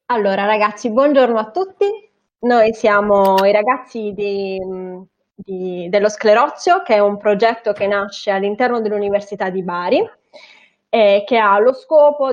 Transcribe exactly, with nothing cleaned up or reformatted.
Allora ragazzi, buongiorno a tutti. Noi siamo i ragazzi di mhmm, di dello Sclerozio, che è un progetto che nasce all'interno dell'Università di Bari, e che ha lo scopo